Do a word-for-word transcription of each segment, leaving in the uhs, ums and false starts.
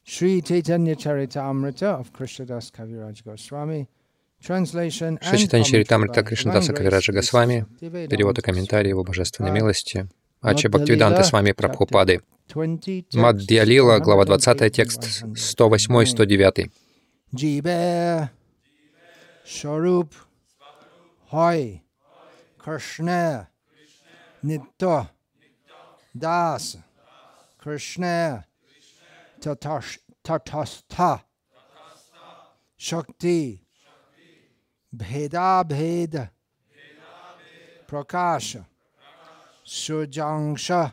Sri Chaitanya Charitamrita of Krishnadas Kaviraj Goswami. Translation Шри and Чайтанья commentary Чаритамрита by Кришнадаса Divine Grace, Кавираджа Grace Госвами, Bhaktivedanta перевод и комментарий его Swami божественной Prabhupada, милости, Ача Madhya Бхактивиданта Lila, Свами chapter Прабхупады, twenty, text Мадхья Лила, глава one oh двадцать, eight and текст one сто oh восемь сто nine. девять. Jibe Sharup Hoy Krishna Nitya Das Krishna Tatash Tatastha Shakti Bheda Bhed Prakasha Sujangsha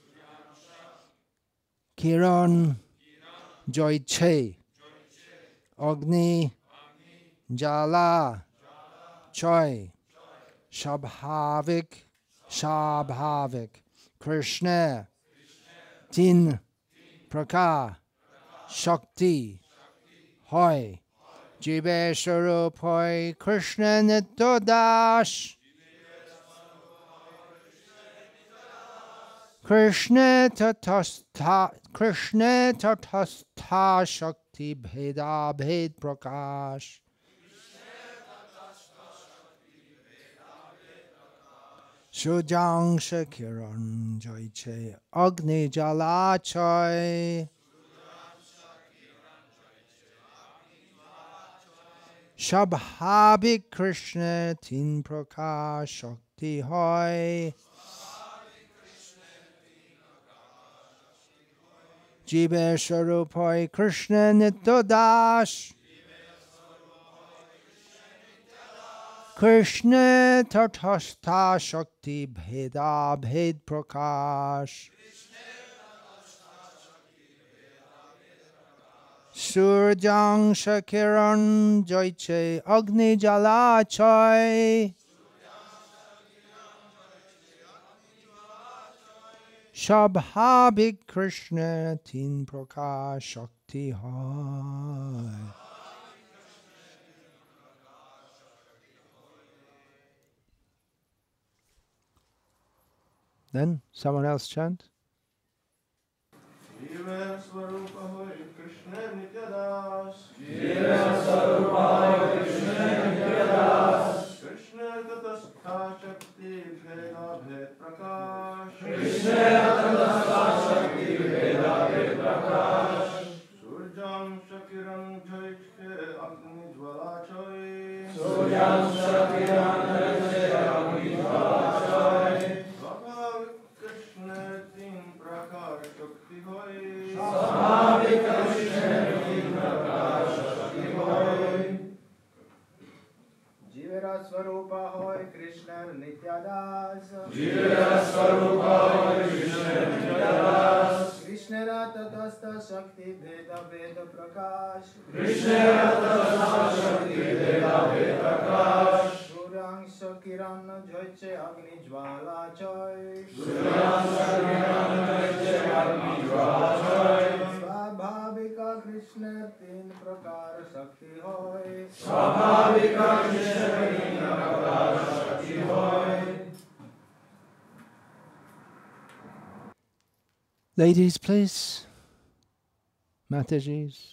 Kiran Joyche Agni Jala Choi Shabhavik Shabhavik Krishna Tin Praka Shakti Hoy Jibe Swarup Hoy Krishna Nitya Krishna Tatastha Krishna Tatastha Shakti Bheda Bhed Prakash Sujangsha Kiran Joyche Agni Jala Choi Shabhabik Krishna Tin Prakash Shakti Hoy Jibe Swarup Hoy Krishna Nitya Das Krishna Tatastha Shakti Bheda Bhed Prakash Surjangsha Kiran Joyche Agni Jala Choi Shabhabik Krishna Tin Prakash Shakti Hoy. Then someone else chant. Jive Swarupa Hoy Krishna Nitya Das Jive Swarupa Hoy Krishna Nitya Das Krishna Tatastha Shakti Bheda Bhed Prakash Krishna Tatastha Shakti Bheda Bhed Prakash Surjam Shakiran Joyche Agni Jwala Choi Suryam Shakiran Joyche Agni Jwala Choi Swaભાવિક Krishna Tin Prakar Shakti Hoy Swaભાવિક Krishna Tin Prakar Shakti Hoy Jivera Swarupa Hoy Krishna Nitya Das Jivera Swarupa Hoy Krishna Nitya Das Krishna Tatastha Shakti Bheda Bheda Prakash Krishna Tatastha Shakti Bheda Bheda Prakash Surang Shakiran Joyche Agni Jwala Choi Suryam Shakiran Joyche Agni Jwala Choi Swabhavika Krishna Tin Prakar Shakti Hoy Swabhavika Krishna Tin Prakar Shakti Hoy. Ladies, please. Matajis.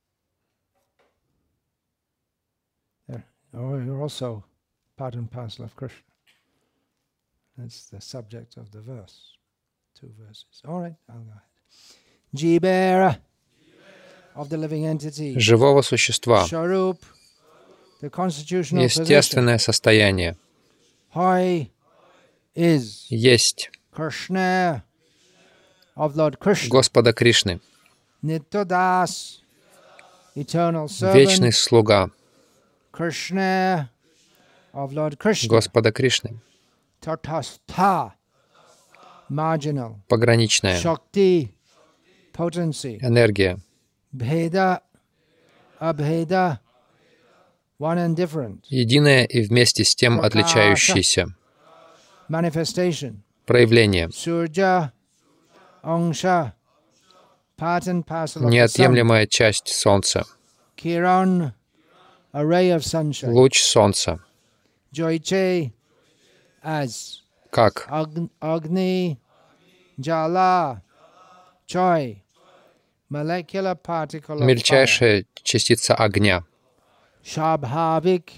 There. Oh, you're also part and parcel of Krishna. That's the subject of the verse. Two verses. All right, I'll go ahead. Jibera of the living entity. Живого существа. Sharup, the constitutional Естественное состояние. Hoy is Есть Krishna of Lord Krishna. Господа Кришны. Nitya Das, eternal Вечный servant. слуга Krishna of Lord Krishna. Господа Кришны. Tatastha, marginal. Пограничная. Shakti, potency. Энергия. Bheda, abheda, one and different. Единое и вместе с тем отличающееся. Manifestation. Проявление. Surja, angsha, part and parcel of the sun. Неотъемлемая часть Солнца. Kiran, a ray of sunshine. Луч Солнца. Joyche, as. Как? Ag- Agni, Jala, Choi, molecular particle of fire. мельчайшая частица огня. Shambhavik,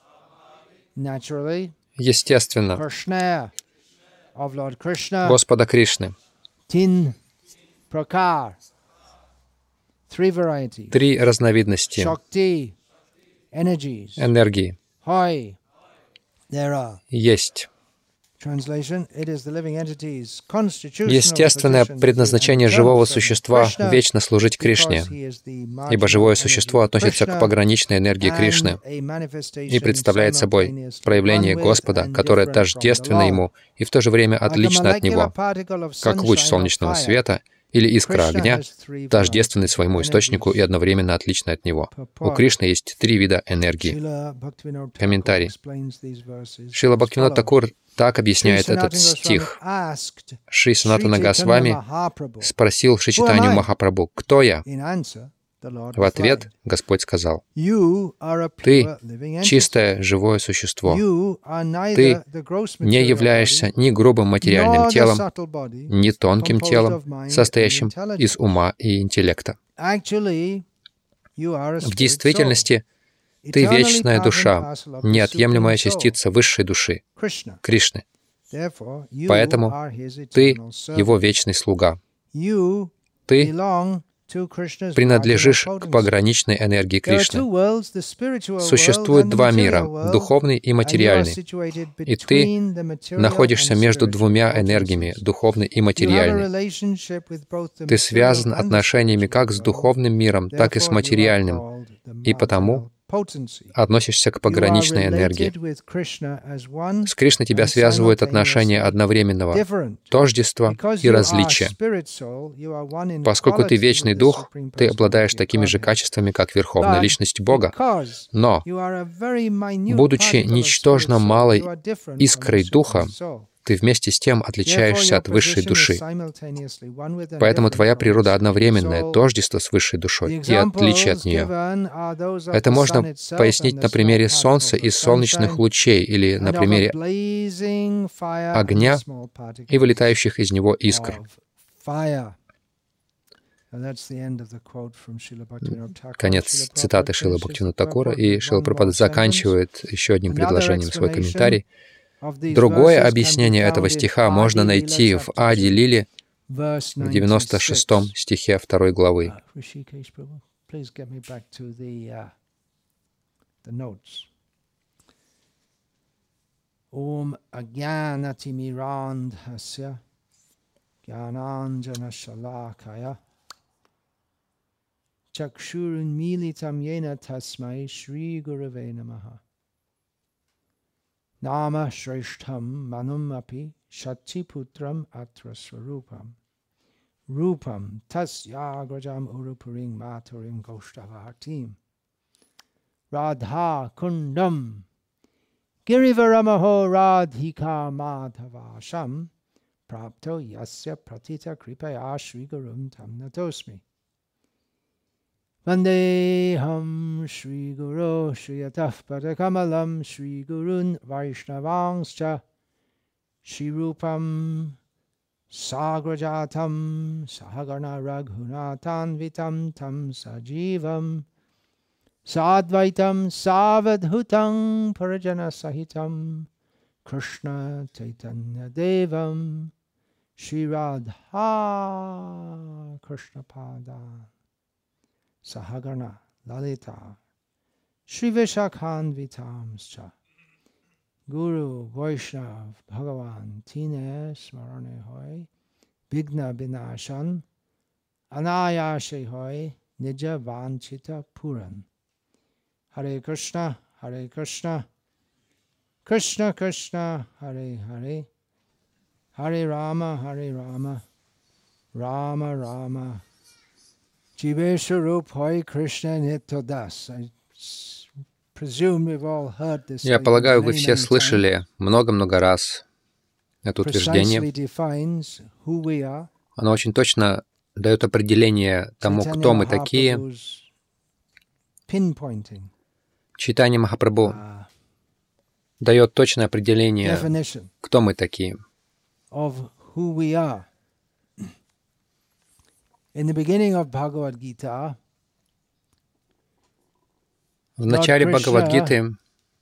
naturally, Естественно, Krishna, of Lord Krishna, Господа Кришны. tin, prakar, three varieties, Три разновидности shakti, energies, энергии hoi, there are. есть. Translation, it is the living entity's constitutional Естественное position предназначение to be живого eternal servant существа Krishna, — вечно служить Кришне, because he is the ибо marginal живое energy существо of относится Krishna к пограничной энергии and Кришны a manifestation и представляет собой simultaneously проявление one with Господа, and которое different from the тождественно Lord. Ему и в то же время Like a отлично от molecular Него, particle of как луч sunshine or солнечного fire, света или искра Krishna огня, has three тождественный varieties of своему источнику и energies. одновременно отличный от него. У Purport. Кришны есть три вида энергии. Srila Bhaktivinoda Thakur Комментарий. explains these verses Шрила as Бхактивинода follows. Такур так Шри объясняет этот Санатана стих. Госвами asked Шри Санатана Шри Госвами Chaitanya Mahaprabhu, спросил Шичитанию I? Махапрабху: «Кто я?» In answer, the Lord В ответ replied, Господь сказал: You are a «Ты pure living entity. чистое живое существо. You are neither Ты the gross не material являешься body, ни грубым материальным nor the телом, subtle body, ни тонким composed телом, of mind and состоящим intelligence. из ума и интеллекта. Actually, you are a В spirit действительности soul, ты eternally вечная part and душа, parcel of the неотъемлемая Supreme Soul, частица высшей души, Krishna. Кришны. Therefore, you Поэтому are his ты eternal servant. Его вечный слуга. You Ты belong to Krishna's принадлежишь marginal к potency. пограничной энергии There are Кришны. two worlds, the spiritual world Существует and the два material мира, world, духовный и and you are материальный, situated и ты between the material находишься and между spiritual двумя энергиями, potencies. духовной и You have a материальной. relationship with both the Ты material связан and the отношениями spiritual как с world. духовным миром, так и с Therefore, you are материальным, called the и потому marginal potency. относишься к You are пограничной энергии. related with Krishna as one С Кришной тебя and связывают отношения simultaneously одновременного different. тождества Because и you are различия. spirit soul, you are one in Поскольку ты quality вечный with the дух, Supreme ты обладаешь Personality of такими же Godhead. качествами, как Верховная But Личность Бога. because Но, you are a very minute будучи particle of ничтожно spirit soul, малой you are different from искрой the духа, Supreme Soul. ты вместе с тем Therefore, отличаешься your от высшей position is души. simultaneously one with and Поэтому different твоя from the природа Supreme одновременное Soul. тождество с высшей The душой и отличие от examples нее. given are those of Это the можно sun itself пояснить and на the примере small Солнца particles и of солнечных sunshine, лучей или на and of a примере blazing fire and the огня small particles и вылетающих из него искр. of fire. And that's the end of the quote from Srila Bhaktivinoda Thakur. Конец Srila цитаты Prabhupada Шрила finishes the Бхактивинода Такура, purport и with Шрила one Прабхупада more sentence. заканчивает еще одним Another предложением свой explanation комментарий. of these Другое verses can be объяснение этого found in стиха можно Adi найти Lila в chapter Ади two, Лиле verse в девяносто шестом ninety-six. стихе второй главы. Uh, Rishikesh Prabhu, please get me back to the uh, the notes. Om Agyanati Mirandhasya Gyananjana Shalakaya Chakshurun Militam Yena Tasmai Shri Gurave Namaha Nama Shreshtham Manum Api Shati Putram Atra Swarupam Rupam Tasyagrajam Urupuring Maturing Goshtavatim Radha Kundam Girivaramaho Radhika Madhavasham Prapto Yasya Pratita Kripaya Shri Gurum Tamnatosmi Vandeham Shri Guru Shri Ataf Padakamalam Shri Gurun Vaishnavangscha Shri Rupam Sagrajatam Sahagarna Raghunatan Vitam Tam Sajivam Sadvaitam Savadhutam Parajana Sahitam Krishna Chaitanya Devam Shri Radha Krishna Pada Sahagarna Lalita Shri Vishakhan Vitamscha Guru Vaishnav Bhagavan Tine Smarane Hoy Bigna Binashan Anayashe Hoy Nija Vanchita Puran Hare Krishna Hare Krishna Krishna Krishna Hare Hare Hare Rama Hare Rama Rama Rama Jiveswarup Hoy Krishna Nityadas. I presume we've all heard this Я statement полагаю, вы many, все many times. слышали много-много раз это утверждение. Precisely defines who we are. Оно очень точно дает определение тому, Chaitanya кто мы такие. Mahaprabhu's pinpointing Чайтанья Махапрабху uh, дает точное определение, definition кто мы такие. of who we are. In the beginning of Bhagavad Gita, В начале Krishna Бхагавад-гиты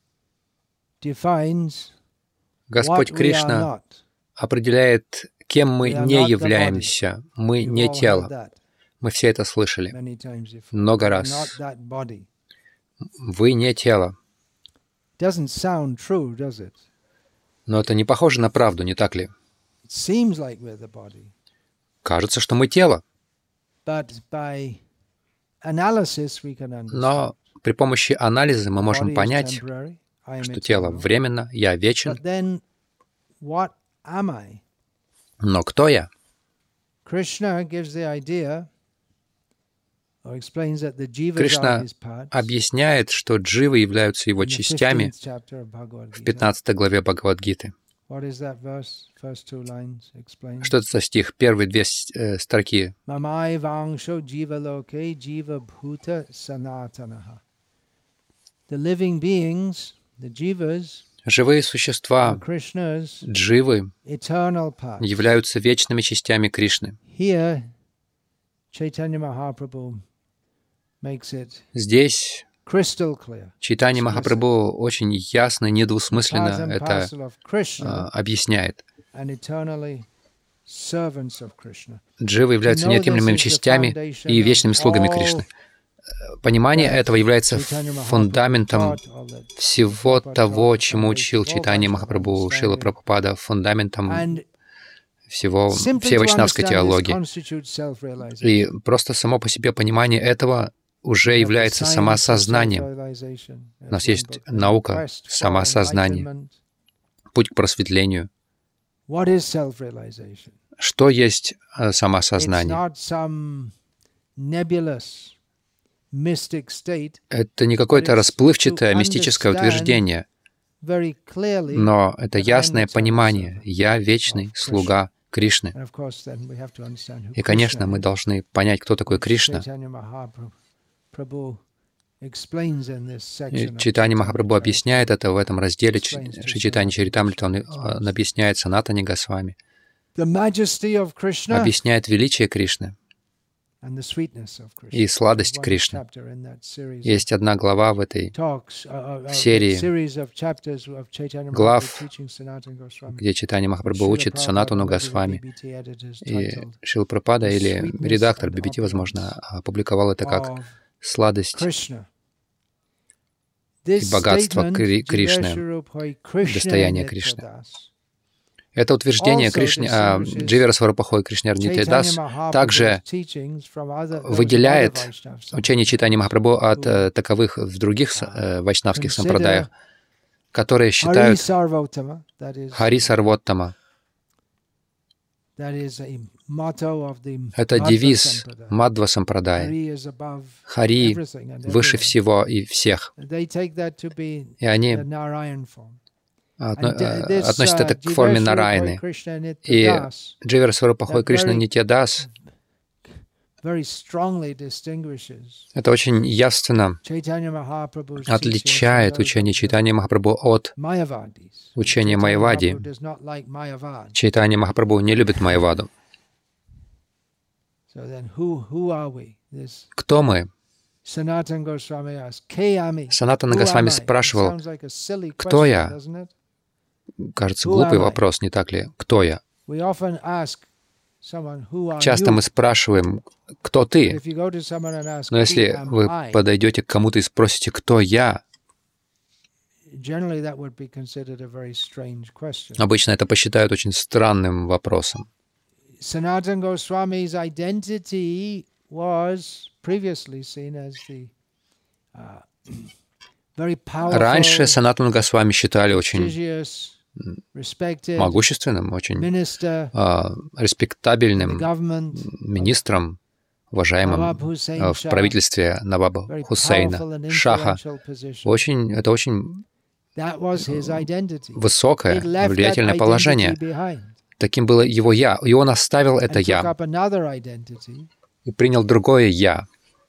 defines Господь what we are Кришна not. определяет, кем мы We are не not the являемся. Мы You've не all heard тело. that Мы все это слышали many times before. много We're раз. not that body. Вы не тело. Doesn't sound true, does it? Но это не похоже на правду, не так ли? It seems like we're the body, Кажется, что мы тело. but by analysis we can understand. Но при помощи анализа мы можем Body is понять, temporary, I am что тело eternal. временно, я вечен. But then, what am I? Но кто я? Krishna gives the idea, or explains that the jivas Кришна are his parts. объясняет, что дживы являются его In the частями fifteenth chapter of Bhagavad в Gita. пятнадцатой главе Бхагавад-гиты. What is that verse? First two lines explain. Что это за стих? Первые две э, строки. Mamai vangsho jiva loke jiva bhuta sanatanaha. The living beings, the jivas, Живые are существа, Krishna's дживы, eternal parts. являются вечными частями Кришны. Here, Chaitanya Mahaprabhu makes it Здесь crystal clear. Чайтанья Махапрабху очень ясно, Part недвусмысленно and это parcel of э, Krishna объясняет. and eternally servants of Krishna. Дживы являются неотъемлемыми частями и вечными слугами Кришны. Понимание этого является фундаментом всего того, чему учил Чайтанья Махапрабху, Шрила Прабхупада, фундаментом And всего, simply всей to вайшнавской understand this теологии. constitutes self-realization. И просто само по себе понимание этого уже является самоосознанием. У нас есть наука самоосознания. Путь к просветлению. Что есть э, самоосознание? Это не какое-то расплывчатое мистическое утверждение, но это ясное понимание. Я вечный слуга Кришны. И, конечно, мы должны понять, кто такой Кришна. И Чайтанья Махапрабху объясняет это в этом разделе Шри Чайтанья Чаритамрита. Он, он объясняет Санатане Госвами. Объясняет величие Кришны и сладость Кришны. Есть одна глава в этой в серии глав, где Чайтанья Махапрабху учит Санатану Госвами. И Шрила Прабхупада или редактор би би ти, возможно, опубликовал это как «Сладость и богатство Кри- Кришны, достояние Кришны». Это утверждение Кришны, а, Дживера Сварупахой Кришнар Нитьядас также выделяет учение Чайтаньи Махапрабху от э, таковых в других э, вайшнавских сампрадаях, которые считают Хари Сарвоттама. Это девиз Мадхва сампрадая. Хари выше всего и всех. И они относят это к форме Нараяны. И Дживера Сварупахой Кришна Нитьядас это очень явственно отличает учение Чайтаньи Махапрабху от учения Майявади. Чайтанья Махапрабху не любит Майяваду. Кто мы? Санатана Госвами спрашивал, кто я? Кажется, глупый вопрос, не так ли? Кто я? Часто мы спрашиваем, кто ты? Но если вы подойдете к кому-то и спросите, кто я, обычно это посчитают очень странным вопросом. Раньше Санатану Госвами считали очень могущественным, очень э, респектабельным министром, уважаемым э, в правительстве Наваба Хусейна, Шаха. Очень, это очень высокое, влиятельное положение. Таким было его «я», и он оставил это «я» и принял другое «я».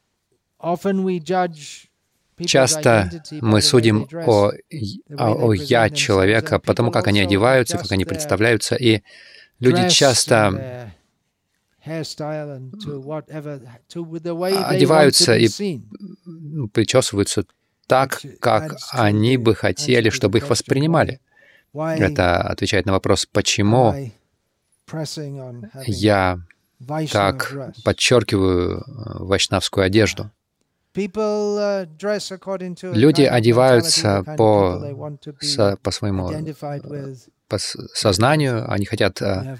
Часто мы судим о, о, о «я» человека, потому как они одеваются, как они представляются, и люди часто одеваются и причесываются так, как они бы хотели, чтобы их воспринимали. Это отвечает на вопрос, почему я так подчеркиваю вайшнавскую одежду. Люди одеваются по, со, по своему по сознанию, они хотят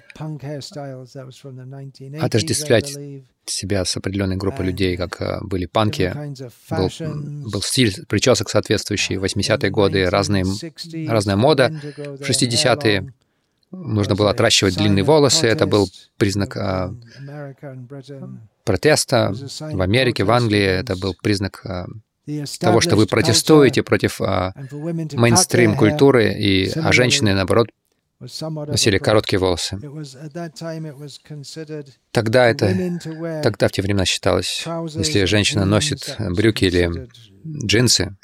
отождествлять себя с определенной группой людей, как были панки. Был, был стиль причесок соответствующий, восьмидесятые годы, разные, разная мода. В шестидесятые нужно было отращивать длинные волосы, это был признак а, протеста. В Америке, в Англии это был признак а, того, что вы протестуете против а, мейнстрим-культуры, и, а женщины, наоборот, носили короткие волосы. Тогда это, тогда в те времена считалось, если женщина носит брюки или джинсы,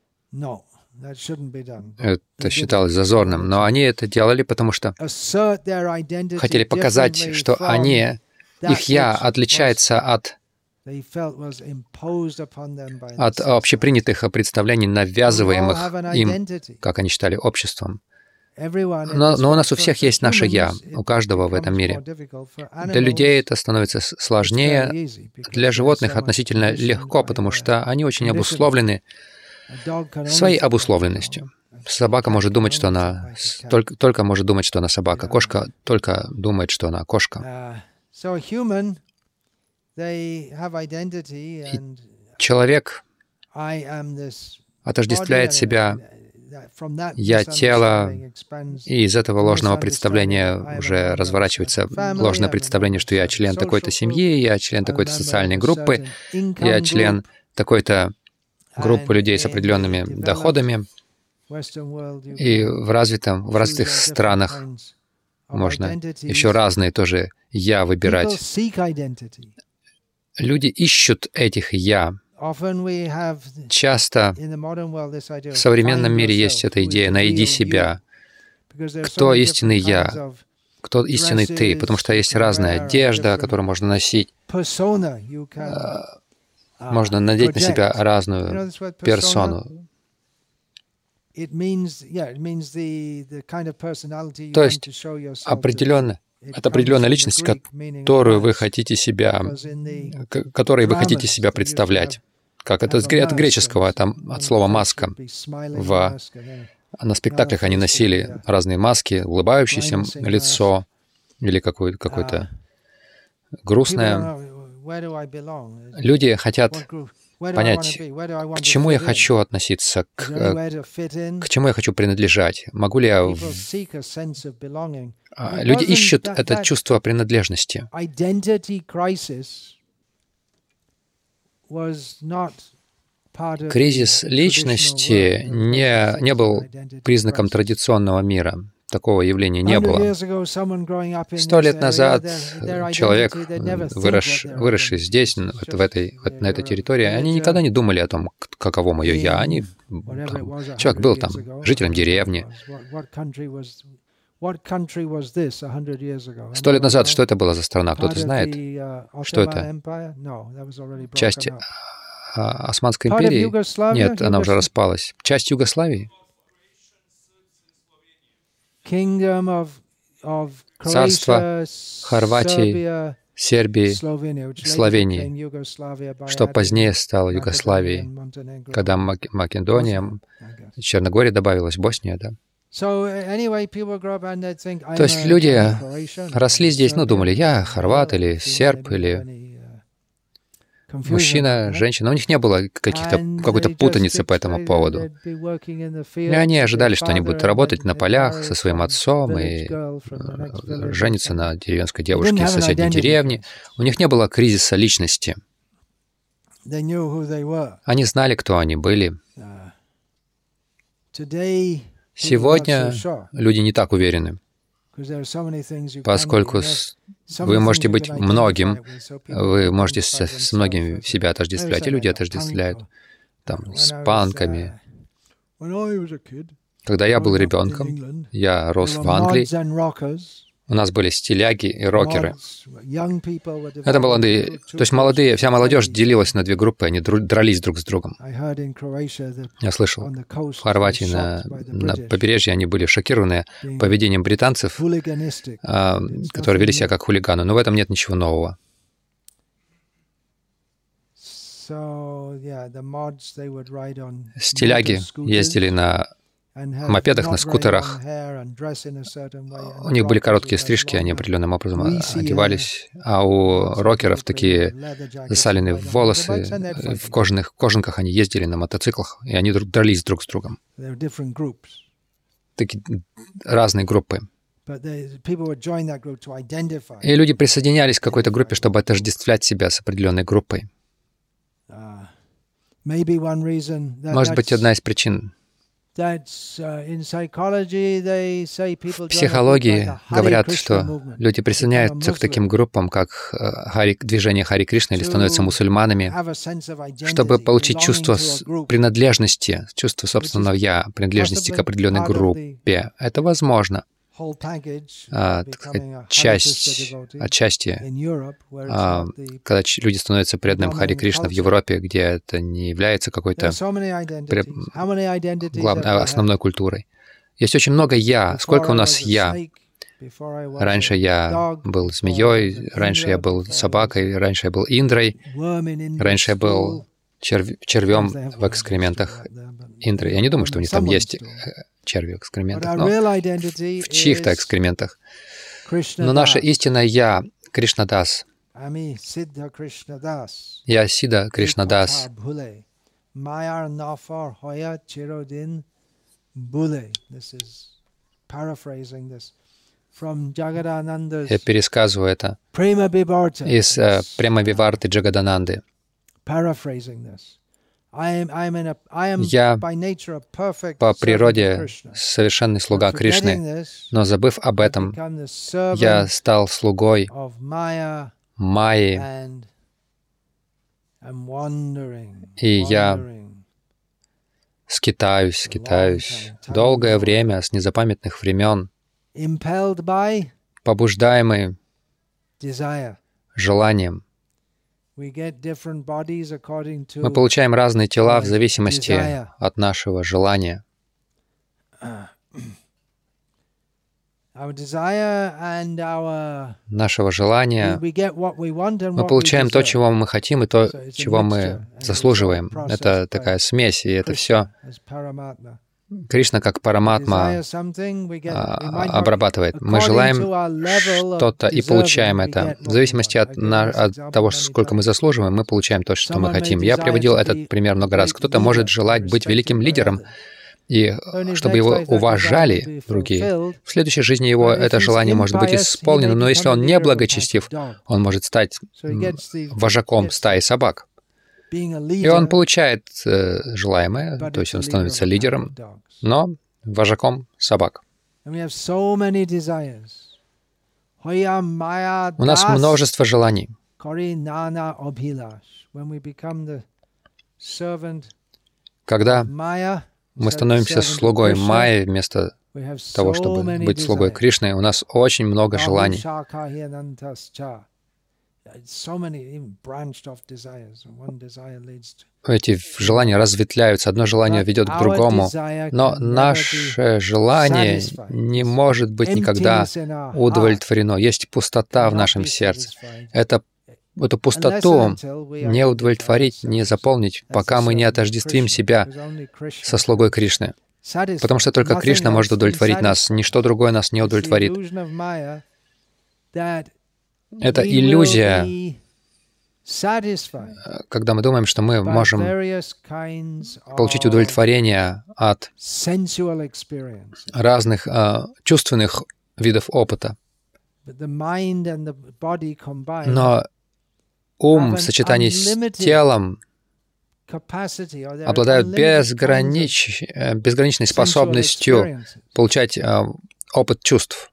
это считалось зазорным. Но они это делали, потому что хотели показать, что они, их «я» отличается от, от общепринятых представлений, навязываемых им, как они считали, обществом. Но, но у нас у всех есть наше «я», у каждого в этом мире. Для людей это становится сложнее, для животных относительно легко, потому что они очень обусловлены своей обусловленностью. Собака может думать, что она только, только может думать, что она собака. Кошка только думает, что она кошка. И человек отождествляет себя, «я» тело, и из этого ложного представления уже разворачивается ложное представление, что я член такой-то семьи, я член такой-то социальной группы, я член такой-то группы людей с определенными доходами. И в развитом, в развитых странах можно еще разные тоже «я» выбирать. Люди ищут этих «я». Часто в современном мире есть эта идея «найди себя». Кто истинный «я», кто истинный «ты», потому что есть разная одежда, которую можно носить. Можно надеть на себя разную персону. То есть определенно, это определенная личность, которую вы хотите себя, которой вы хотите себя представлять. Как это от греческого, там от слова «маска». В, на спектаклях они носили разные маски, улыбающееся лицо или какое-то, какое-то грустное. Люди хотят понять, к чему я хочу относиться, к, к чему я хочу принадлежать. Могу ли я... В... Люди ищут это чувство принадлежности. Кризис личности не, не был признаком традиционного мира. Такого явления не было. Сто лет назад человек, вырос, выросший здесь, в этой, на этой территории, они никогда не думали о том, каково мое «я». Они, там, человек был там жителем деревни. Сто лет назад что это была за страна? Кто-то знает, что это? Часть Османской империи? Нет, она уже распалась. Часть Югославии? Царство Хорватии, Сербии, Словении, что позднее стало Югославией, когда Македония, Черногория добавилась, Босния, да. То есть люди росли здесь, ну, думали, я хорват или серб, или мужчина, женщина. У них не было каких-то, какой-то путаницы по этому поводу. И они ожидали, что они будут работать на полях со своим отцом и жениться на деревенской девушке из соседней деревни. У них не было кризиса личности. Они знали, кто они были. Сегодня люди не так уверены, поскольку вы можете быть многим, вы можете с, с многим себя отождествлять, и люди отождествляют там, с панками. Когда я был ребенком, я рос в Англии, У нас были стиляги и рокеры. Это молодые, то есть молодые, вся молодежь делилась на две группы, они дрались друг с другом. Я слышал, в Хорватии на, на побережье они были шокированы поведением британцев, которые вели себя как хулиганы, но в этом нет ничего нового. Стиляги ездили на мопедах, на скутерах. У них были короткие стрижки, они определенным образом одевались, а у рокеров такие засаленные волосы, в кожаных кожанках они ездили на мотоциклах, и они дрались друг с другом. Такие разные группы. И люди присоединялись к какой-то группе, чтобы отождествлять себя с определенной группой. Может быть, одна из причин. В психологии говорят, что люди присоединяются к таким группам, как Хари, движение Хари Кришна, или становятся мусульманами, чтобы получить чувство принадлежности, чувство собственного «я», принадлежности к определенной группе. Это возможно. А, так сказать, часть, отчасти, а, когда люди становятся преданным Хари Кришна в Европе, где это не является какой-то главной, основной культурой. Есть очень много «я». Сколько у нас «я»? Раньше я был змеей, раньше я был собакой, раньше я был Индрой, раньше я был черв... червем в экскрементах Индры. Я не думаю, что у них там есть черви в экскрементах, но в чьих-то экскрементах. Но наше истинное «я» — Кришнадас. Я Сидха Кришнадас. Я пересказываю это из uh, Према-виварты Джагадананды. Я по природе совершенный слуга Кришны, но забыв об этом, я стал слугой Майи, и я скитаюсь, скитаюсь долгое время, с незапамятных времен, побуждаемый желанием. Мы получаем разные тела в зависимости от нашего желания. Нашего желания мы получаем то, чего мы хотим, и то, чего мы заслуживаем. Это такая смесь, и это все Кришна как Параматма обрабатывает. Мы желаем что-то и получаем это. В зависимости от, на, от того, сколько мы заслуживаем, мы получаем то, что мы хотим. Я приводил этот пример много раз. Кто-то может желать быть великим лидером, и чтобы его уважали другие. В следующей жизни его это желание может быть исполнено, но если он не благочестив, он может стать вожаком стаи собак. И он получает э, желаемое, то есть он становится лидером, но вожаком собак. У нас множество желаний. Когда мы становимся слугой Майи вместо того, чтобы быть слугой Кришны, у нас очень много желаний. Эти желания разветвляются, одно желание ведет к другому, но наше желание не может быть никогда удовлетворено. Есть пустота в нашем сердце. Это, эту пустоту не удовлетворить, не заполнить, пока мы не отождествим себя со слугой Кришны. Потому что только Кришна может удовлетворить нас, ничто другое нас не удовлетворит. Это иллюзия, когда мы думаем, что мы можем получить удовлетворение от разных uh, чувственных видов опыта. Но ум в сочетании с телом обладают безгранич... безграничной способностью получать uh, опыт чувств.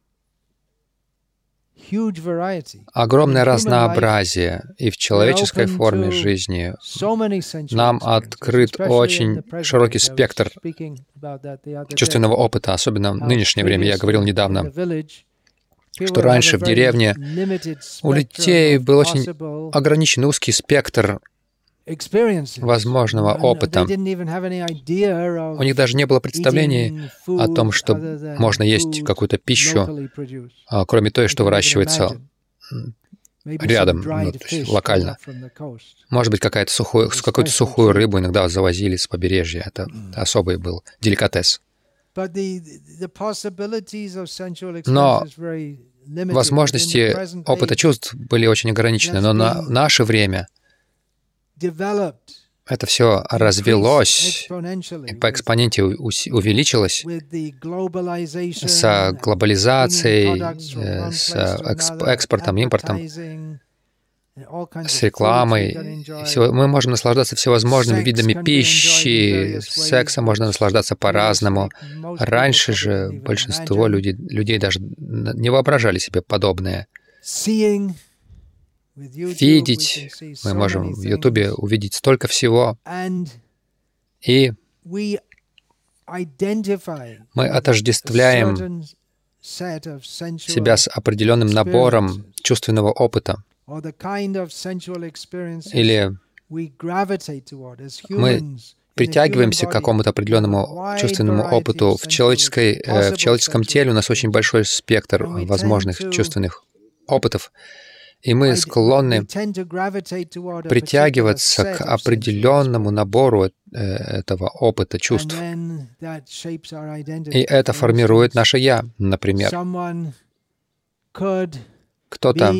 Огромное разнообразие, и в человеческой форме жизни нам открыт очень широкий спектр чувственного опыта, особенно в нынешнее время. Я говорил недавно что раньше в деревне у людей был очень ограниченный узкий спектр возможного опыта. У них даже не было представлений о том, что можно есть какую-то пищу, кроме той, что выращивается рядом, ну, то есть локально. Может быть, какая-то сухую, какую-то сухую рыбу иногда завозили с побережья. Это особый был деликатес. Но возможности опыта чувств были очень ограничены. Но на наше время это все развелось и по экспоненте увеличилось с глобализацией, с экспортом, импортом, с рекламой. Мы можем наслаждаться всевозможными видами пищи, сексом можно наслаждаться по-разному. Раньше же большинство людей, людей даже не воображали себе подобное. Видеть, мы можем в Ютубе увидеть столько всего, и мы отождествляем себя с определенным набором чувственного опыта, или мы притягиваемся к какому-то определенному чувственному опыту. В, человеческой, э, в человеческом теле у нас очень большой спектр возможных чувственных опытов, и мы склонны притягиваться к определенному набору этого опыта чувств. И это формирует наше «я». Например, кто-то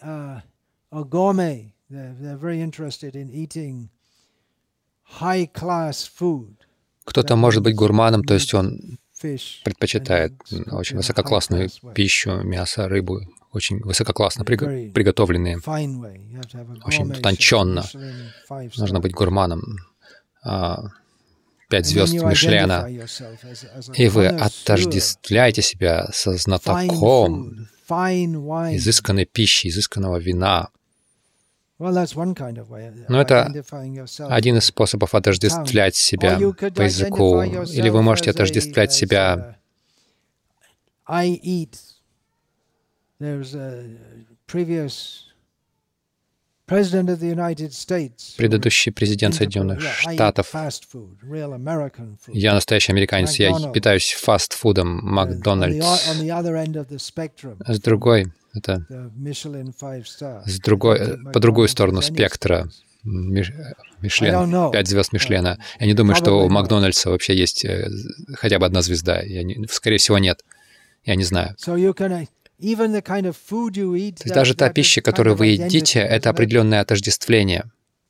кто-то может быть гурманом, то есть он предпочитает очень высококлассную пищу, мясо, рыбу, очень высококлассно приго- приготовленные, очень утонченно. Нужно быть гурманом. Пять звезд Мишлена. И вы отождествляете себя со знатоком изысканной пищи, изысканного вина. Но это один из способов отождествлять себя по языку. Или вы можете отождествлять себя предыдущий президент Соединенных Штатов. Я настоящий американец, я питаюсь фастфудом Макдональдс. С другой, это с другой, по другую сторону спектра Мишлен, пять звезд Мишлена. Я не думаю, что у Макдональдса вообще есть хотя бы одна звезда. Я не, скорее всего, нет. Я не знаю. То есть даже та пища, которую вы едите, это определенное отождествление.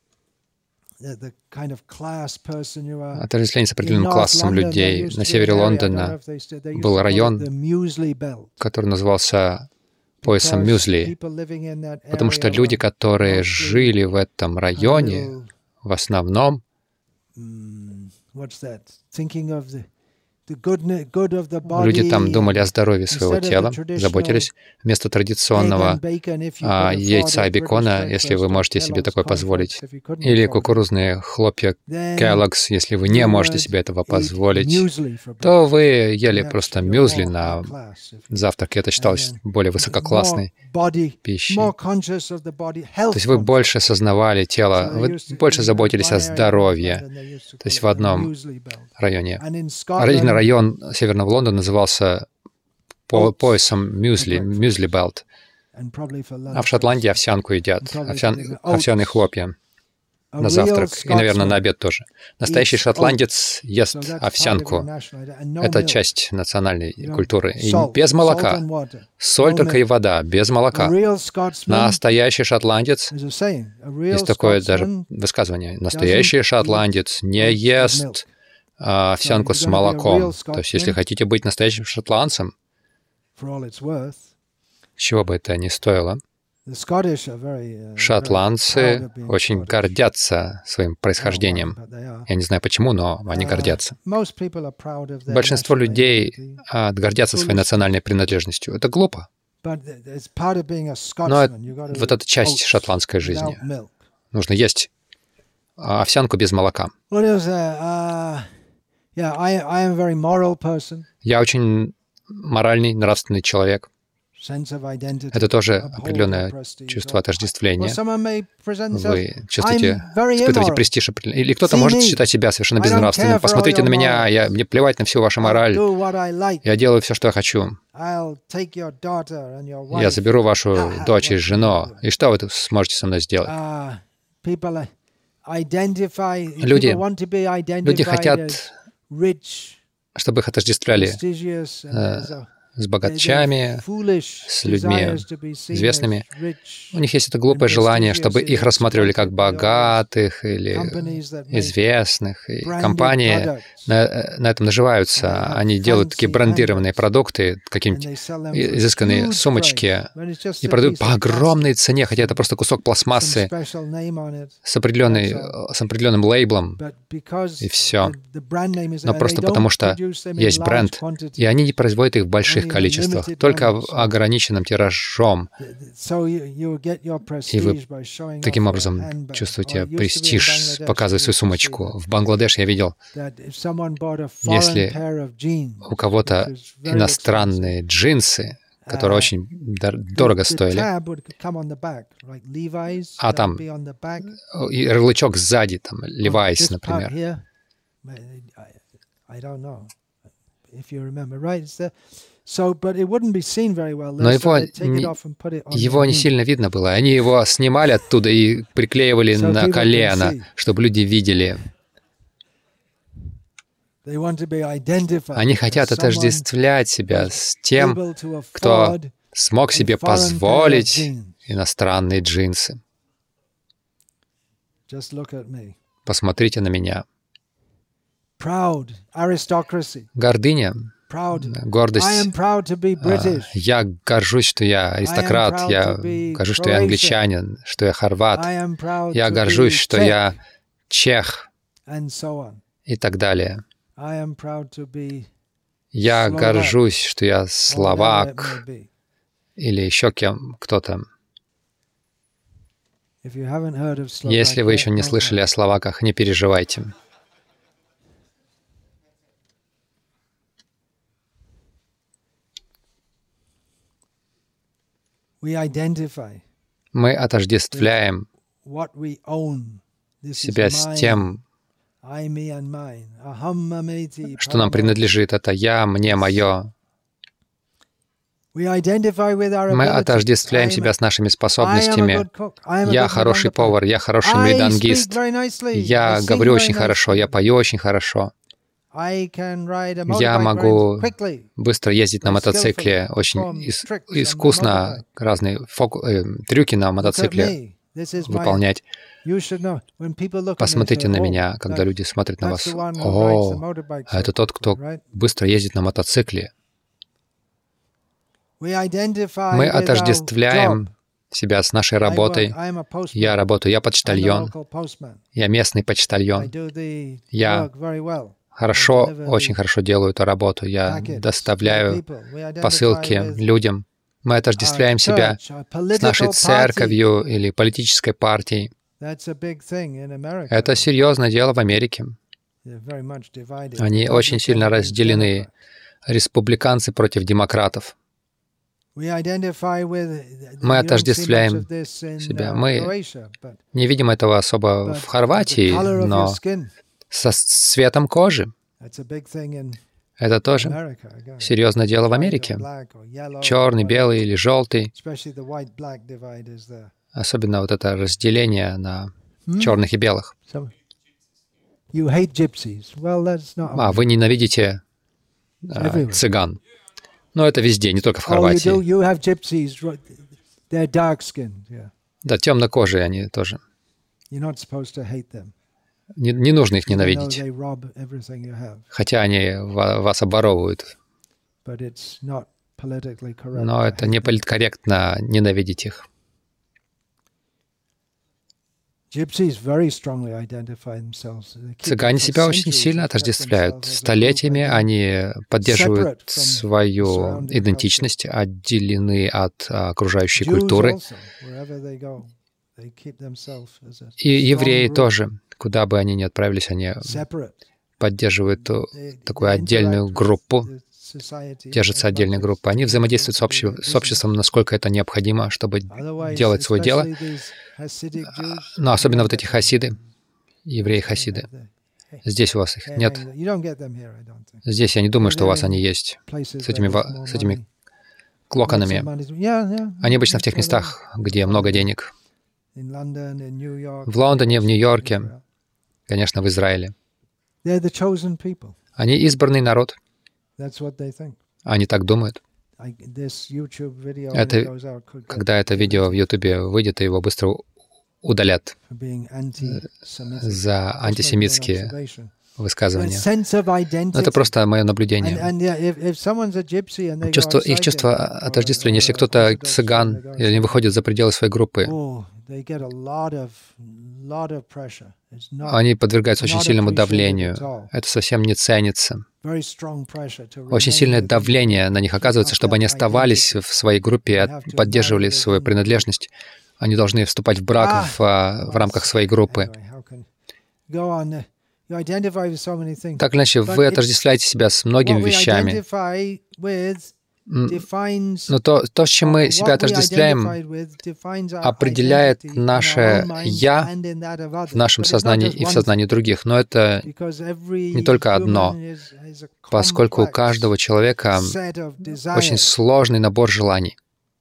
Отождествление с определенным классом людей. На севере Лондона был район, который назывался поясом мюзли, потому что люди, которые жили в этом районе, в основном люди там думали о здоровье своего тела, заботились. Вместо традиционного а, яйца и бекона, если вы можете себе такое позволить, или кукурузные хлопья Kellogg's, если вы не можете себе этого позволить, то вы ели просто мюзли на завтрак, и это считалось более высококлассной пищей. То есть вы больше осознавали тело, вы больше заботились о здоровье. То есть в одном районе. Район Северного Лондона назывался по поясом мюзли, мюзли белт. А в Шотландии овсянку едят, овсян, овсяные хлопья на завтрак и, наверное, на обед тоже. Настоящий шотландец ест овсянку. Это часть национальной культуры. И без молока. Соль только и вода, без молока. Настоящий шотландец, есть такое даже высказывание, настоящий шотландец не ест овсянку с молоком. То есть, если хотите быть настоящим шотландцем, чего бы это ни стоило, шотландцы очень гордятся своим происхождением. Я не знаю почему, но они гордятся. Большинство людей гордятся своей национальной принадлежностью. Это глупо. Но это, вот это часть шотландской жизни. Нужно есть овсянку без молока. Я очень моральный, нравственный человек. Это тоже определенное чувство отождествления. Вы чувствуете, испытываете престиж. Или кто-то может считать себя совершенно безнравственным. Посмотрите на меня, я, мне плевать на всю вашу мораль. Я делаю все, что я хочу. Я заберу вашу дочь и жену. И что вы сможете со мной сделать? Люди, люди хотят, чтобы их отождествляли э, с богачами, с людьми известными. У них есть это глупое желание, чтобы их рассматривали как богатых или известных. И компании на, на этом наживаются. Они делают такие брендированные продукты, какие-нибудь изысканные сумочки, и продают по огромной цене, хотя это просто кусок пластмассы с, определенной, с определенным лейблом, и все. Но просто потому, что есть бренд, и они не производят их в больших количествах, только в ограниченном тиражом. И вы таким образом чувствуете престиж, показывая свою сумочку. В Бангладеш я видел, если у кого-то иностранные джинсы, которые очень дорого стоили, а там и ярлычок сзади, там, Levi's, например. Но его, его не сильно видно было. Они его снимали оттуда и приклеивали на колено, чтобы люди видели. Они хотят отождествлять себя с тем, кто смог себе позволить иностранные джинсы. Посмотрите на меня. Гордыня, гордость. Я горжусь, что я аристократ, я горжусь, что я англичанин, что я хорват, я горжусь, что я чех и так далее. Я горжусь, что я словак или еще кем, кто-то. Если вы еще не слышали о словаках, не переживайте. Мы отождествляем себя с тем, что нам принадлежит. Это «я», «мне», «мое». Мы отождествляем себя с нашими способностями. Я хороший повар, я хороший мридангист, я говорю очень хорошо, я пою очень хорошо. Я могу быстро ездить на мотоцикле, очень ис- искусно разные фоку- э, трюки на мотоцикле выполнять. Посмотрите на меня, когда люди смотрят на вас. О, это тот, кто быстро ездит на мотоцикле. Мы отождествляем себя с нашей работой. Я работаю, я почтальон, я местный почтальон. Я хорошо, очень хорошо делаю эту работу. Я доставляю посылки людям. Мы отождествляем себя с нашей церковью или политической партией. Это серьезное дело в Америке. Они очень сильно разделены. Республиканцы против демократов. Мы отождествляем себя. Мы не видим этого особо в Хорватии, но со цветом кожи. Это тоже серьезное дело в Америке. Черный, белый или желтый. Особенно вот это разделение на черных и белых. А, вы ненавидите а, цыган. Но это везде, не только в Хорватии. Да, темнокожие они тоже. Не, не нужно их ненавидеть, хотя они вас обворовывают. Но это не политкорректно ненавидеть их. Цыгане себя очень сильно отождествляют. Столетиями они поддерживают свою идентичность, отделены от окружающей культуры. И евреи тоже, куда бы они ни отправились, они поддерживают такую отдельную группу, держатся отдельные группы. Они взаимодействуют с, обще, с обществом, насколько это необходимо, чтобы делать свое дело. Но особенно вот эти хасиды, евреи-хасиды. Здесь у вас их нет. Здесь я не думаю, что у вас они есть, с этими, с этими клоконами. Они обычно в тех местах, где много денег. В Лондоне, в Нью-Йорке, конечно, в Израиле. Они избранный народ. Они так думают. Это, когда это видео в Ютубе выйдет, его быстро удалят за антисемитские высказывания. Но это просто мое наблюдение. Чувство, их чувство отождествления, если кто-то цыган, и они выходят за пределы своей группы, они подвергаются очень сильному давлению. Это совсем не ценится. Очень сильное давление на них оказывается, чтобы они оставались в своей группе и поддерживали свою принадлежность. Они должны вступать в брак в, в рамках своей группы. Так или иначе, вы отождествляете себя с многими вещами. Но то, то, с чем мы себя отождествляем, определяет наше «я» в нашем сознании и в сознании других. Но это не только одно, поскольку у каждого человека очень сложный набор желаний.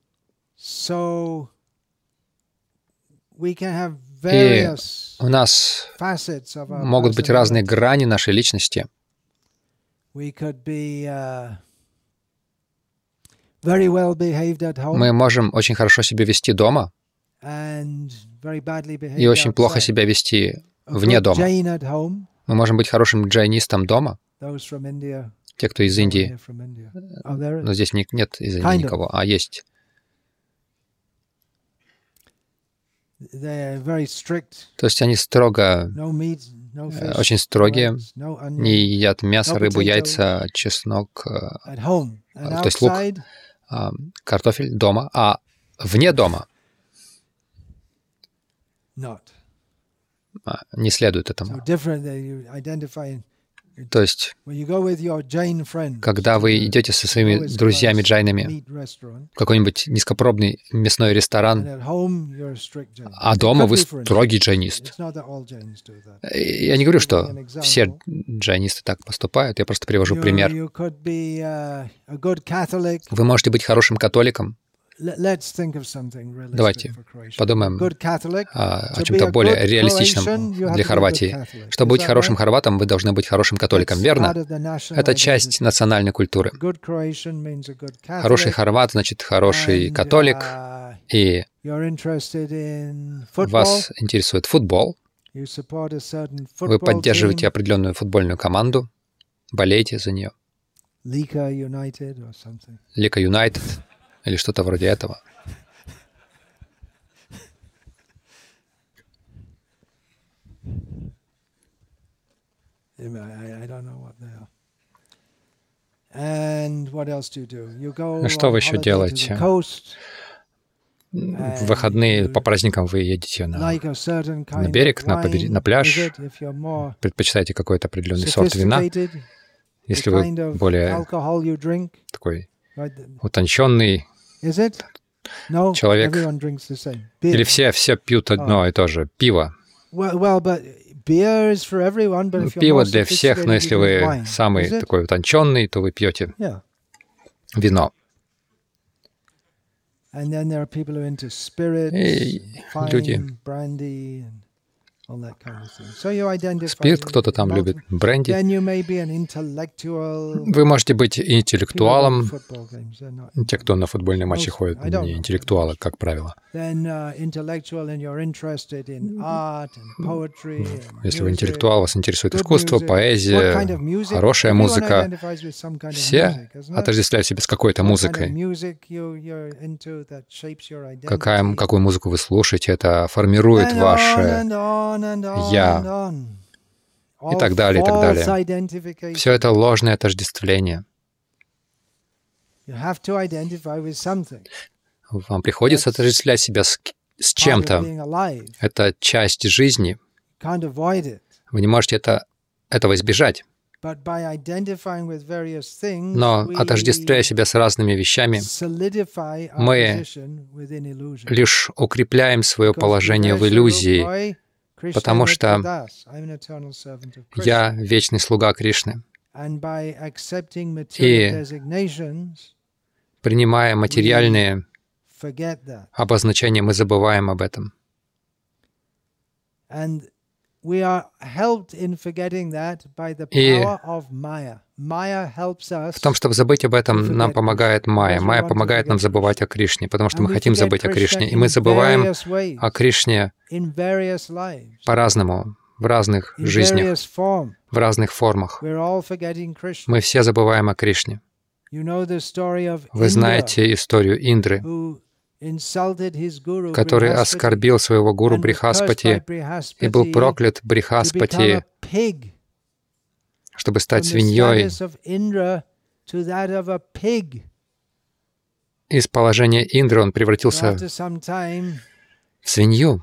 И у нас могут быть разные грани нашей личности. Мы можем очень хорошо себя вести дома и очень плохо себя вести вне дома. Мы можем быть хорошим джайнистом дома. Те, кто из Индии. Но здесь нет из Индии никого, а есть. То есть они строго, очень строгие, не едят мясо, рыбу, яйца, чеснок, то есть лук, картофель дома, а вне дома не следует этому. То есть, когда вы идете со своими друзьями-джайнами в какой-нибудь низкопробный мясной ресторан, а дома вы строгий джайнист. Я не говорю, что все джайнисты так поступают, я просто привожу пример. Вы можете быть хорошим католиком. Давайте подумаем о, о чем-то более реалистичном для Хорватии. Чтобы быть хорошим хорватом, вы должны быть хорошим католиком, верно? Это часть национальной культуры. Хороший хорват значит хороший католик, и вас интересует футбол, вы поддерживаете определенную футбольную команду, болеете за нее. Лика Юнайтед. Или что-то вроде этого. Что вы еще делаете? В выходные по праздникам вы едете на, на берег, на, побер... на пляж, предпочитаете какой-то определенный сорт вина. Если вы более такой утонченный человек. Или все, все пьют одно и то же. Пиво. Пиво для всех, но если вы самый такой утонченный, то вы пьете вино. И люди... Спирт кто-то там любит, бренди. Вы можете быть интеллектуалом. Те, кто на футбольные матчи ходят, не интеллектуалы, как правило. Если вы интеллектуал, вас интересует искусство, поэзия, хорошая музыка. Все отождествляют себя с какой-то музыкой. Какая, какую музыку вы слушаете, это формирует ваше «я», и так далее, и так далее. Все это ложное отождествление. Вам приходится отождествлять себя с, с чем-то. Это часть жизни. Вы не можете это, этого избежать. Но, отождествляя себя с разными вещами, мы лишь укрепляем свое положение в иллюзии, потому что я вечный слуга Кришны. И принимая материальные обозначения, мы забываем об этом. И в том, чтобы забыть об этом, нам помогает Майя. Майя помогает нам забывать о Кришне, потому что мы хотим забыть о Кришне. И мы забываем о Кришне по-разному, в разных жизнях, в разных формах. Мы все забываем о Кришне. Вы знаете историю Индры, который оскорбил своего гуру Брихаспати и был проклят Брихаспати, чтобы стать свиньей. Из положения Индры он превратился в свинью.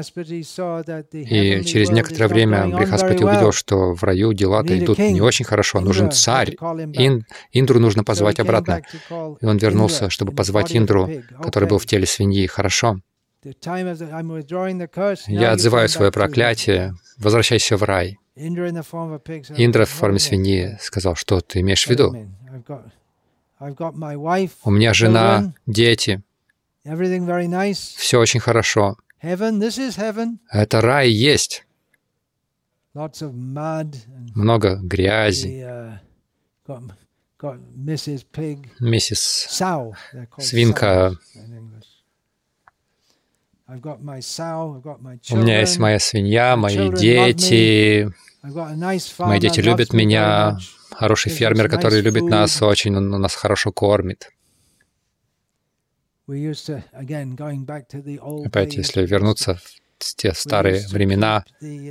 И через некоторое время Брихаспати увидел, что в раю дела-то идут не очень хорошо. Нужен царь. Ин, Индру нужно позвать обратно. И он вернулся, чтобы позвать Индру, который был в теле свиньи. Хорошо. Я отзываю свое проклятие. Возвращайся в рай. Индра в форме свиньи сказал, что ты имеешь в виду? У меня жена, дети. Все очень хорошо. Это рай есть. Много грязи. Миссис Свинка. У меня есть моя свинья, мои дети. Мои дети любят меня. Хороший фермер, который любит нас очень, он нас хорошо кормит. Опять, если вернуться в те старые времена,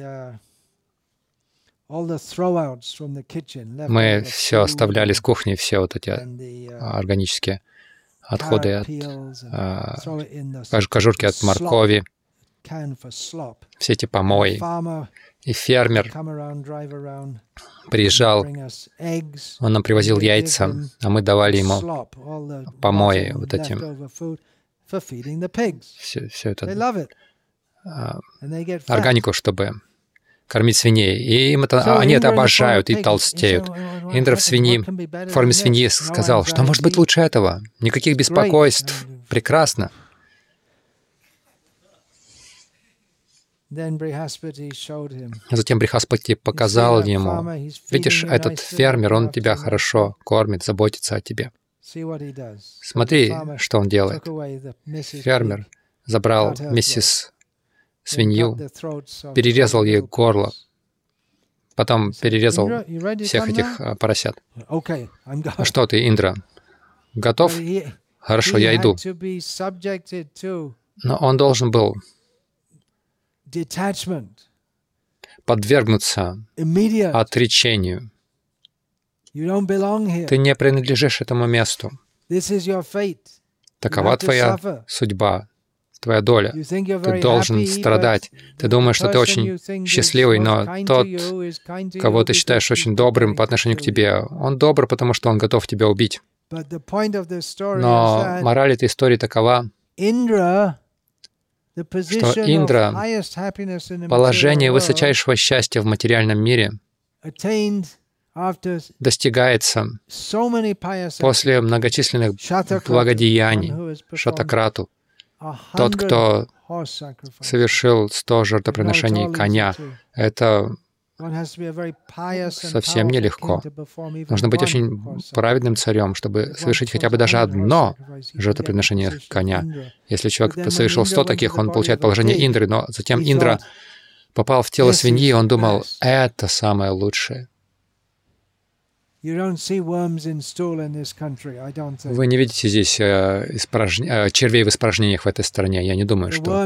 мы все оставляли с кухни, все вот эти органические отходы от а, кожурки от моркови, все эти помои. И фермер приезжал, он нам привозил яйца, а мы давали ему помои вот этим. Все, все это а, органику, чтобы кормить свиней. И им это, они это обожают и толстеют. Индра в свиньи, в форме свиньи сказал, что может быть лучше этого. Никаких беспокойств. Прекрасно. Затем Брихаспати показал ему, видишь, этот фермер, он тебя хорошо кормит, заботится о тебе. Смотри, что он делает. Фермер забрал миссис свинью, перерезал ей горло, потом перерезал всех этих поросят. А что ты, Индра, готов? Хорошо, я иду. Но он должен был подвергнуться отречению. Ты не принадлежишь этому месту. Такова твоя судьба, твоя доля. Ты должен страдать. Ты думаешь, что ты очень счастливый, но тот, кого ты считаешь очень добрым по отношению к тебе, он добр, потому что он готов тебя убить. Но мораль этой истории такова, что Индра, положение высочайшего счастья в материальном мире, достигается после многочисленных благодеяний Шатакрату. Тот, кто совершил сто жертвоприношений коня, это совсем нелегко. Нужно быть очень праведным царем, чтобы совершить хотя бы даже одно жертвоприношение коня. Если человек совершил сто таких, он получает положение Индры, но затем Индра попал в тело свиньи, и он думал, это самое лучшее. Вы не видите здесь э, испражн... э, червей в испражнениях в этой стране. Я не думаю, что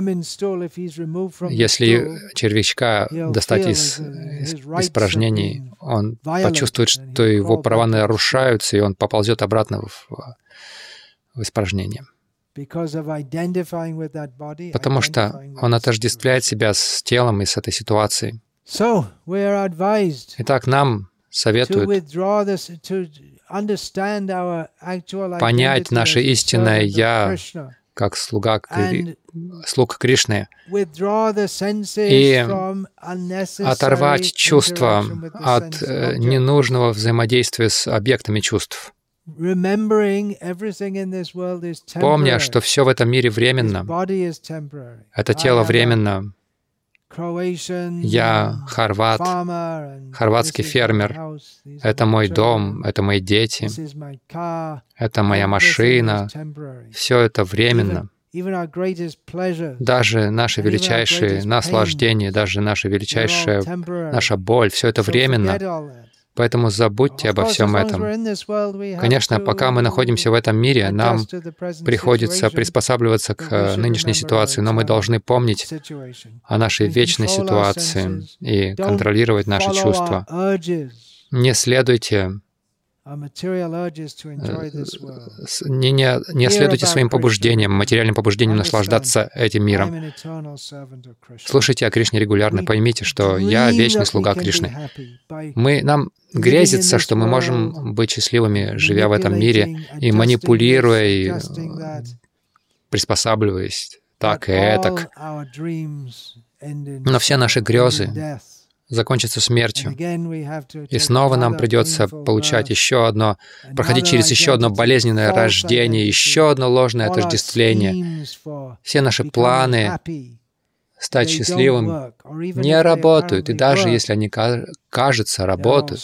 если червячка достать из, из испражнений, он почувствует, что его права нарушаются, и он поползет обратно в, в испражнение. Потому что он отождествляет себя с телом и с этой ситуацией. Итак, нам советует понять наше истинное «Я» как слуга, слуг Кришны, и оторвать чувства от ненужного взаимодействия с объектами чувств, помня, что все в этом мире временно. Это тело временно. Я хорват, хорватский фермер. Это мой дом, это мои дети, это моя машина. Все это временно. Даже наши величайшие наслаждения, даже наша величайшая, наша боль, все это временно. Поэтому забудьте обо всем этом. Конечно, пока мы находимся в этом мире, нам приходится приспосабливаться к нынешней ситуации, но мы должны помнить о нашей вечной ситуации и контролировать наши чувства. Не следуйте Не, не, не следуйте своим побуждениям, материальным побуждениям наслаждаться этим миром. Слушайте о Кришне регулярно, поймите, что я вечный слуга Кришны. Мы, нам грезится, что мы можем быть счастливыми, живя в этом мире, и манипулируя, и приспосабливаясь так и этак. Но все наши грезы закончится смертью. И снова нам придется получать еще одно, проходить через еще одно болезненное рождение, еще одно ложное отождествление. Все наши планы стать счастливым не работают, и даже если они, кажется, работают,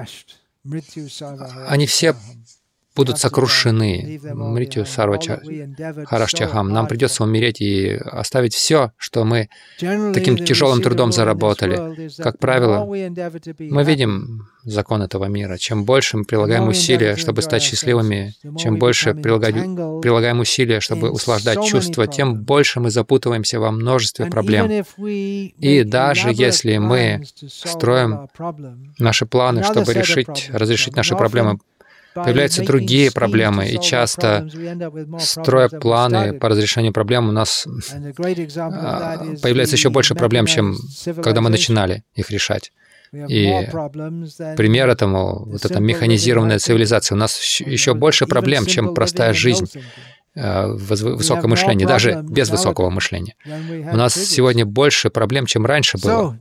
они все будут сокрушены. Мритью Сарвача Харашчахам. Нам придется умереть и оставить все, что мы таким тяжелым трудом заработали. Как правило, мы видим закон этого мира. Чем больше мы прилагаем усилия, чтобы стать счастливыми, чем больше прилагаем, прилагаем усилия, чтобы услаждать чувства, тем больше мы запутываемся во множестве проблем. И даже если мы строим наши планы, чтобы решить, разрешить наши проблемы, появляются другие проблемы, и часто, строя планы по разрешению проблем, у нас появляется еще больше проблем, чем когда мы начинали их решать. И пример этому, вот эта механизированная цивилизация, у нас еще больше проблем, чем простая жизнь, высокое мышление, даже без высокого мышления. У нас сегодня больше проблем, чем раньше было.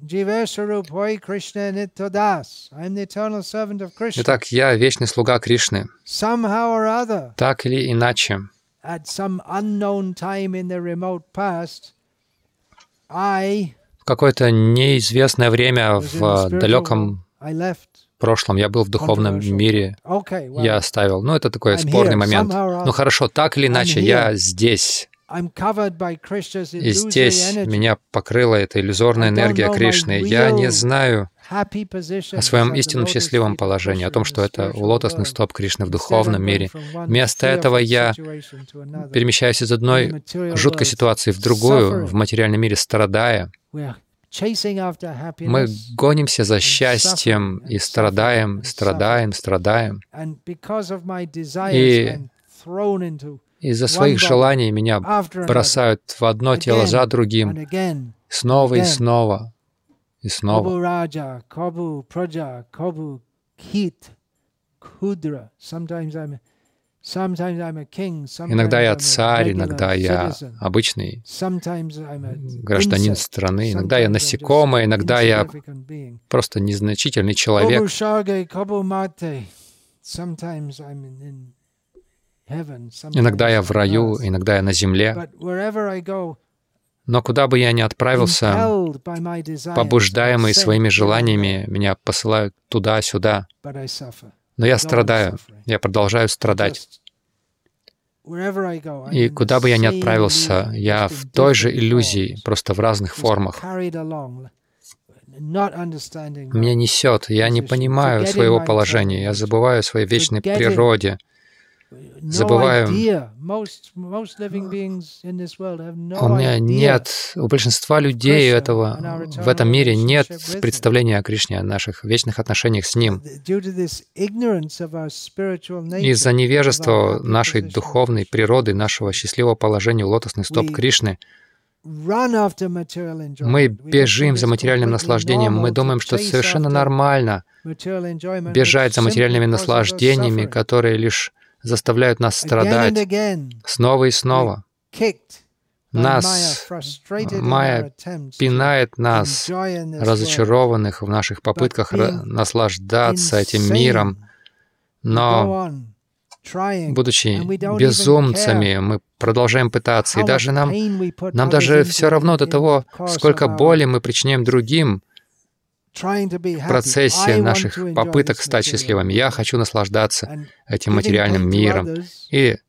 Итак, я вечный слуга Кришны. Так или иначе, в какое-то неизвестное время в далеком прошлом я был в духовном мире, я оставил. Ну, это такой спорный момент. Ну, хорошо, так или иначе, я здесь. И здесь меня покрыла эта иллюзорная энергия Кришны. Я не знаю о своем истинном счастливом положении, о том, что это лотосный стоп Кришны в духовном мире. Вместо этого я перемещаюсь из одной жуткой ситуации в другую, в материальном мире, страдая. Мы гонимся за счастьем и страдаем, страдаем, страдаем. И из-за своих желаний меня бросают в одно тело за другим, снова и снова, и снова. Иногда я царь, иногда я обычный гражданин страны, иногда я насекомое, иногда я просто незначительный человек. Иногда я в раю, иногда я на земле. Но куда бы я ни отправился, побуждаемые своими желаниями, меня посылают туда-сюда. Но я страдаю, я продолжаю страдать. И куда бы я ни отправился, я в той же иллюзии, просто в разных формах. Меня несет, я не понимаю своего положения, я забываю о своей вечной природе, забываю. У меня нет, у большинства людей этого, в этом мире нет представления о Кришне, о наших вечных отношениях с Ним. Из-за невежества нашей духовной природы, нашего счастливого положения у лотосных стоп Кришны, Мы бежим за материальным наслаждением. Мы думаем, что совершенно нормально бежать за материальными наслаждениями, которые лишь заставляют нас страдать снова и снова. Нас, Майя пинает нас, разочарованных в наших попытках наслаждаться этим миром, но, будучи безумцами, мы продолжаем пытаться, и даже нам, нам даже все равно до того, сколько боли мы причиняем другим в процессе наших попыток стать счастливыми. Я хочу наслаждаться этим материальным миром. И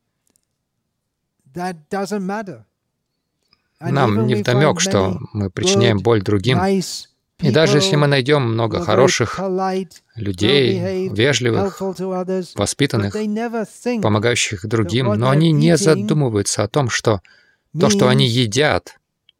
нам не вдомек, что мы причиняем боль другим. И даже если мы найдем много хороших людей, вежливых, воспитанных, помогающих другим, но они не задумываются о том, что то, что они едят,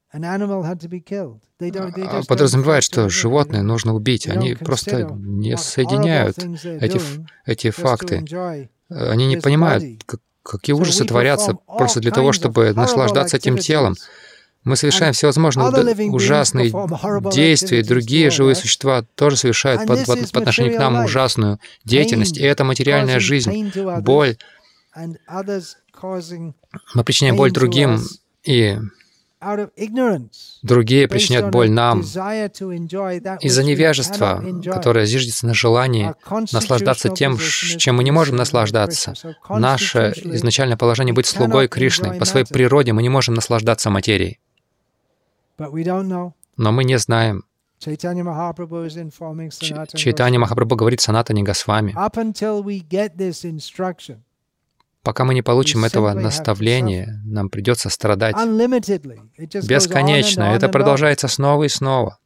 подразумевает, что животное нужно убить. Они просто не соединяют эти, эти факты. Они не понимают, как, какие ужасы творятся просто для того, чтобы наслаждаться этим телом. Мы совершаем всевозможные ужасные действия, и другие живые существа тоже совершают по, по, по отношению к нам ужасную деятельность. И это материальная жизнь, боль. Мы причиняем боль другим, и другие причиняют боль нам из-за невежества, которое зиждется на желании наслаждаться тем, чем мы не можем наслаждаться. Наше изначальное положение — быть слугой Кришны. По своей природе мы не можем наслаждаться материей. Но мы не знаем. Чайтанья Махапрабху говорит Санатане Госвами: пока мы не получим этого наставления, нам придется страдать бесконечно. Это продолжается снова и снова.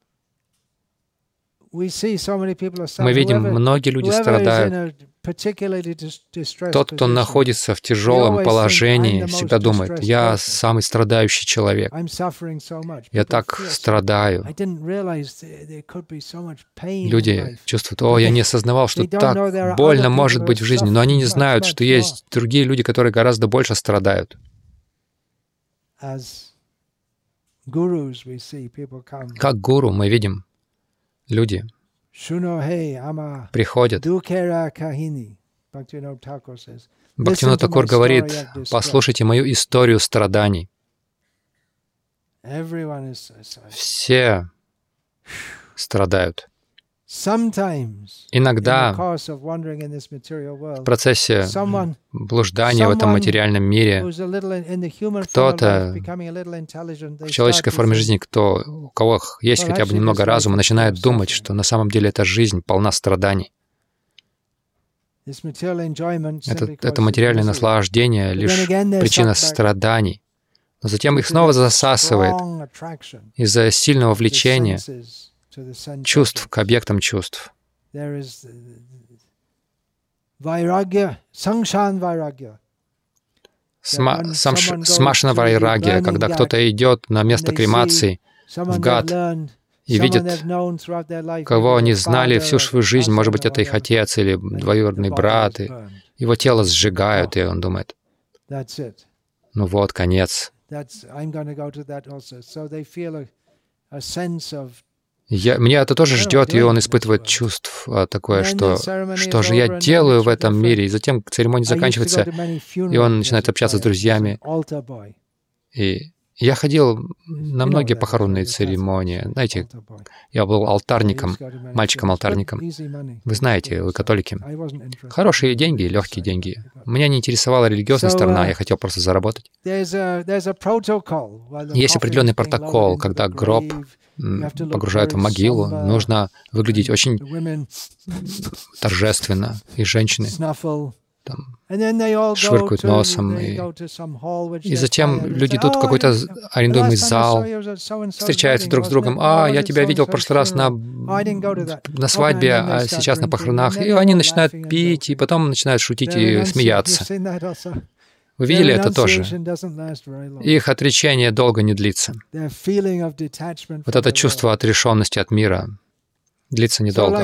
Мы видим, многие люди страдают. Тот, кто находится в тяжелом положении, всегда думает: я самый страдающий человек. Я так страдаю. Люди чувствуют: о, я не осознавал, что так больно может быть в жизни. Но они не знают, что есть другие люди, которые гораздо больше страдают. Как гуру мы видим, люди приходят. Бхактивинода Тхакур говорит: послушайте мою историю страданий. Все страдают. Иногда в процессе блуждания в этом материальном мире кто-то в человеческой форме жизни, кто, у кого есть хотя бы немного разума, начинает думать, что на самом деле эта жизнь полна страданий. Это, это материальное наслаждение — лишь причина страданий. Но затем их снова засасывает из-за сильного влечения чувств к объектам чувств. Смашана вайрагья, когда кто-то идет на место кремации в гат и видит, кого они знали всю свою жизнь, может быть, это их отец или двоюродный брат, и его тело сжигают, и он думает: ну вот, конец. Я, меня это тоже ждет, и он испытывает чувство такое, что что же я делаю в этом мире. И затем церемония заканчивается, и он начинает общаться с друзьями. И я ходил на многие похоронные церемонии. Знаете, я был алтарником, мальчиком-алтарником. Вы знаете, вы католики. Хорошие деньги, легкие деньги. Меня не интересовала религиозная сторона, я хотел просто заработать. Есть определенный протокол, когда гроб погружают в могилу, нужно выглядеть очень торжественно, и женщины там швыркают носом. И, и затем люди идут в какой-то арендуемый зал, встречаются друг с другом. «А, я тебя видел в прошлый раз на, на свадьбе, а сейчас на похоронах». И они начинают пить, и потом начинают шутить и смеяться. Вы видели это тоже? Их отречение долго не длится. Вот это чувство отрешенности от мира длится недолго.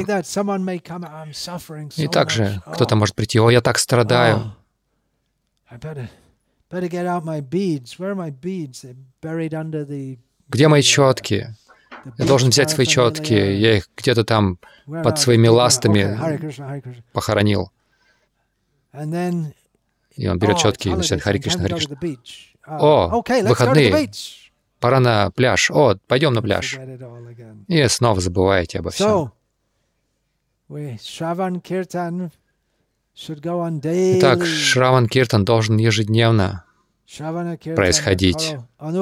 И также кто-то может прийти: «О, я так страдаю. Где мои четки? Я должен взять свои четки. Я их где-то там под своими ластами похоронил. И он берет четки и начинает Хари Кришна, Хари Кришна. О, выходные. Пора на пляж. О, пойдем на пляж. И снова забываете обо всем. Итак, Шраван Киртан должен ежедневно происходить.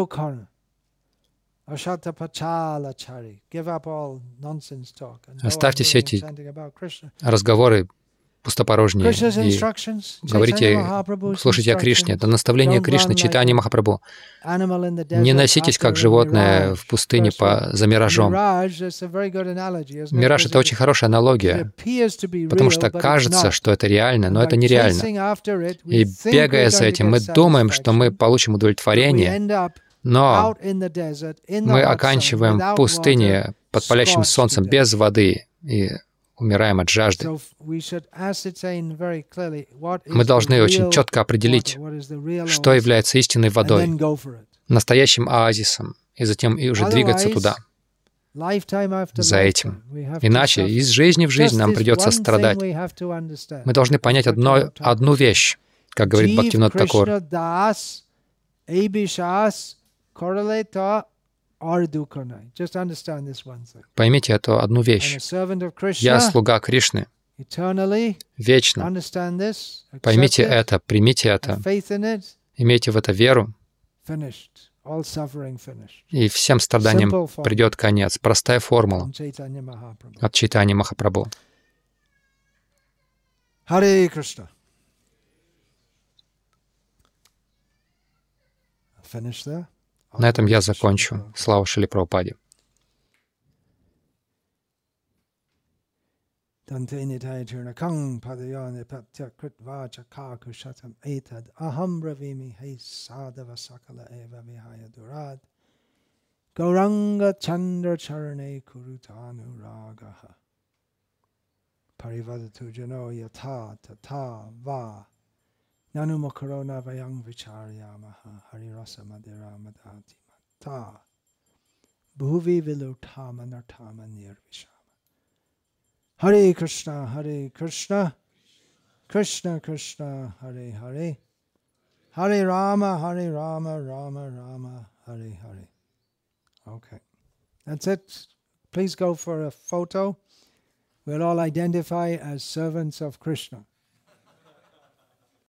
Оставьте все эти разговоры пустопорожние и говорите, слушайте о Кришне. Это наставление Кришны, читание Махапрабху. Не носитесь как животное в пустыне по, за миражом. Мираж — это очень хорошая аналогия, потому что кажется, что это реально, но это нереально. И бегая за этим, мы думаем, что мы получим удовлетворение, но мы оканчиваем в пустыне под палящим солнцем без воды и умираем от жажды. Мы должны очень четко определить, что является истинной водой, настоящим оазисом, и затем и уже двигаться туда, за этим. Иначе из жизни в жизнь нам придется страдать. Мы должны понять одно, одну вещь, как говорит Бхактивинод Такур. Поймите эту одну вещь. Я слуга Кришны. Вечно. Поймите это, примите это, имейте в это веру, и всем страданиям придет конец. Простая формула от Чайтаньи Махапрабху. Харе Кришна. На этом я закончу. Слава Шриле Прабхупаде. Gauranga Chandra Charane Kurutanu Ragaha Parivadatu Jano Yata Tata Va Nanu Makarona Vayang Vicharyamaha Harirasa Madira Madati Mata Bhuvi Vilutama Nartama Nirvishama. Hare Krishna, Hare Krishna, Krishna Krishna, Hare Hare, Hare Rama, Hare Rama, Rama Rama, Hare Hare. Okay, that's it. Please go for a photo. We'll all identify as servants of Krishna.